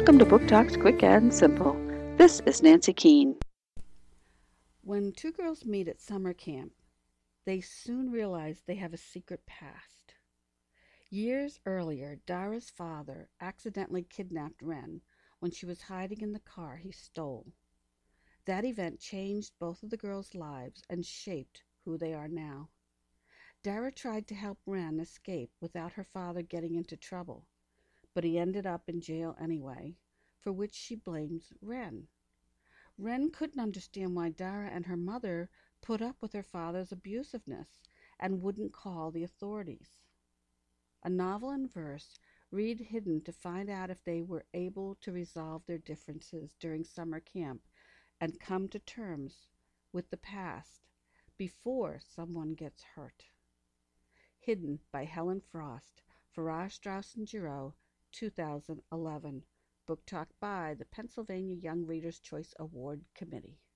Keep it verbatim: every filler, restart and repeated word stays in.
Welcome to Book Talks Quick and Simple. This is Nancy Keene. When two girls meet at summer camp, they soon realize they have a secret past. Years earlier, Dara's father accidentally kidnapped Wren when she was hiding in the car he stole. That event changed both of the girls' lives and shaped who they are now. Dara tried to help Wren escape without her father getting into trouble, but he ended up in jail anyway, for which she blames Wren. Wren couldn't understand why Dara and her mother put up with her father's abusiveness and wouldn't call the authorities. A novel in verse, read Hidden to find out if they were able to resolve their differences during summer camp and come to terms with the past before someone gets hurt. Hidden by Helen Frost, Farrar, Straus and Giroux, two thousand eleven. Book Talk by the Pennsylvania Young Readers' Choice Award Committee.